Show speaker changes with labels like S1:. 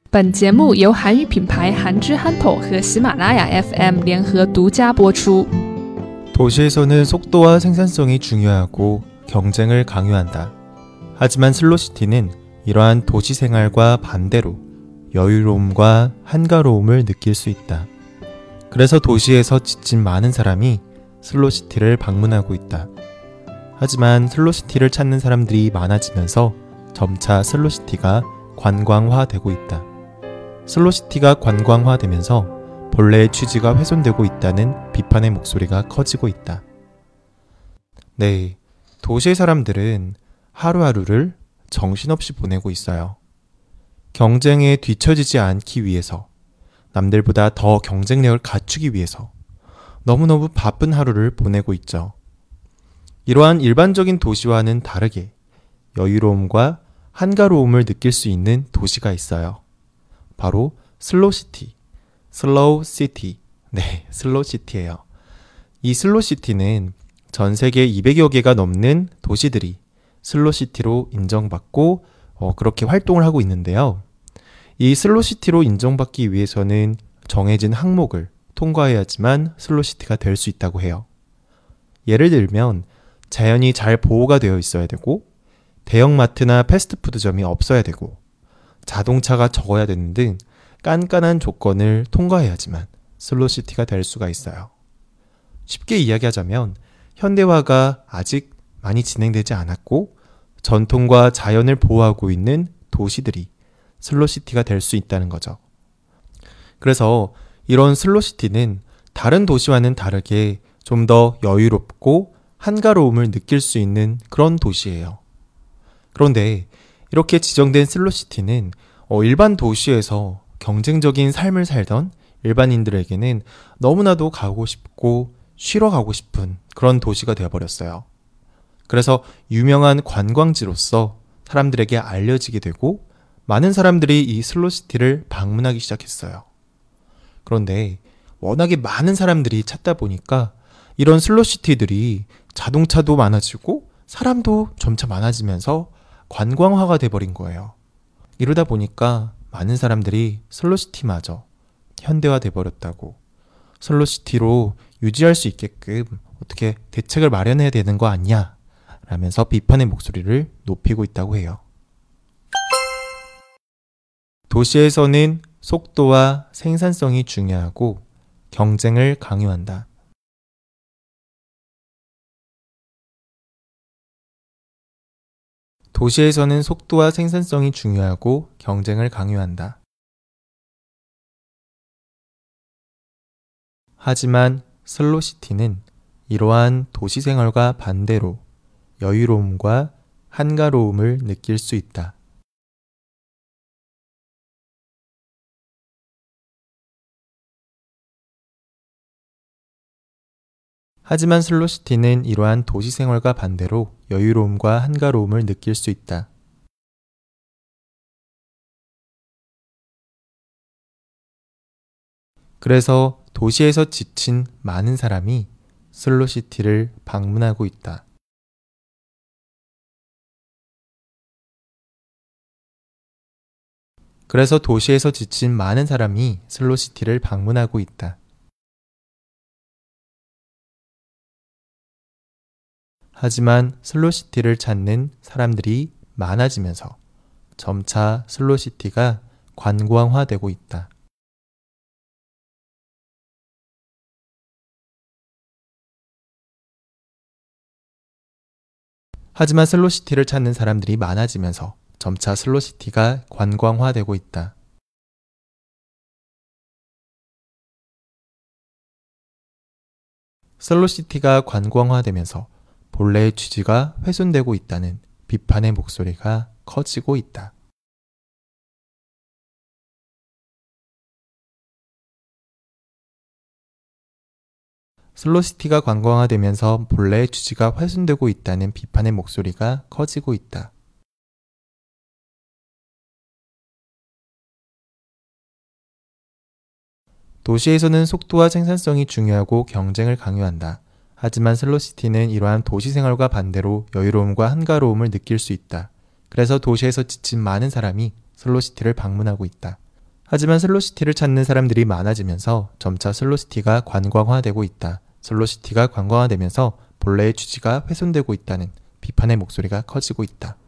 S1: 本节目由韩语品牌韩之憨头和喜马拉雅 FM 联合独家播出。
S2: 도시에서는 속도와 생산성이 중요하고 경쟁을 강요한다. 하지만 슬로시티는 이러한 도시 생활과 반대로 여유로움과 한가로움을 느낄 수 있다. 그래서 도시에서 지친 많은 사람이 슬로시티를 방문하고 있다. 하지만 슬로시티를 찾는 사람들이 많아지면서 점차 슬로시티가 관광화되고 있다. 슬로시티가 관광화되면서 본래의 취지가 훼손되고 있다는 비판의 목소리가 커지고 있다. 네, 도시의 사람들은 하루하루를 정신없이 보내고 있어요. 경쟁에 뒤처지지 않기 위해서, 남들보다 더 경쟁력을 갖추기 위해서 너무너무 바쁜 하루를 보내고 있죠. 이러한 일반적인 도시와는 다르게 여유로움과 한가로움을 느낄 수 있는 도시가 있어요. 바로 슬로시티, 슬로우시티. 네, 슬로시티예요. 이 슬로시티는 전 세계 200여 개가 넘는 도시들이 슬로시티로 인정받고 그렇게 활동을 하고 있는데요. 이 슬로시티로 인정받기 위해서는 정해진 항목을 통과해야지만 슬로시티가 될 수 있다고 해요. 예를 들면 자연이 잘 보호가 되어 있어야 되고, 대형마트나 패스트푸드점이 없어야 되고, 자동차가 적어야 되는 등 깐깐한 조건을 통과해야지만 슬로시티가 될 수가 있어요. 쉽게 이야기하자면 현대화가 아직 많이 진행되지 않았고 전통과 자연을 보호하고 있는 도시들이 슬로시티가 될 수 있다는 거죠. 그래서 이런 슬로시티는 다른 도시와는 다르게 좀 더 여유롭고 한가로움을 느낄 수 있는 그런 도시예요. 그런데 이렇게 지정된 슬로시티는 일반 도시에서 경쟁적인 삶을 살던 일반인들에게는 너무나도 가고 싶고 쉬러 가고 싶은 그런 도시가 되어버렸어요. 그래서 유명한 관광지로서 사람들에게 알려지게 되고 많은 사람들이 이 슬로시티를 방문하기 시작했어요. 그런데 워낙에 많은 사람들이 찾다 보니까 이런 슬로시티들이 자동차도 많아지고 사람도 점차 많아지면서 관광화가 돼버린 거예요. 이러다 보니까 많은 사람들이 슬로시티마저 현대화 돼버렸다고, 슬로시티로 유지할 수 있게끔 어떻게 대책을 마련해야 되는 거 아니야? 라면서 비판의 목소리를 높이고 있다고 해요. 도시에서는 속도와 생산성이 중요하고 경쟁을 강요한다. 도시에서는 속도와 생산성이 중요하고 경쟁을 강요한다. 하지만 슬로시티는 이러한 도시 생활과 반대로 여유로움과 한가로움을 느낄 수 있다. 하지만 슬로시티는 이러한 도시 생활과 반대로 여유로움과 한가로움을 느낄 수 있다. 그래서 도시에서 지친 많은 사람이 슬로시티를 방문하고 있다. 그래서 도시에서 지친 많은 사람이 슬로시티를 방문하고 있다. 하지만 슬로시티를 찾는 사람들이 많아지면서 점차 슬로시티가 관광화되고 있다. 하지만 슬로시티를 찾는 사람들이 많아지면서 점차 슬로시티가 관광화되고 있다. 슬로시티가 관광화되면서 본래의 취지가 훼손되고 있다는 비판의 목소리가 커지고 있다. 슬로시티가 관광화되면서 본래의 취지가 훼손되고 있다는 비판의 목소리가 커지고 있다. 도시에서는 속도와 생산성이 중요하고 경쟁을 강요한다. 하지만 슬로시티는 이러한 도시 생활과 반대로 여유로움과 한가로움을 느낄 수 있다. 그래서 도시에서 지친 많은 사람이 슬로시티를 방문하고 있다. 하지만 슬로시티를 찾는 사람들이 많아지면서 점차 슬로시티가 관광화되고 있다. 슬로시티가 관광화되면서 본래의 취지가 훼손되고 있다는 비판의 목소리가 커지고 있다.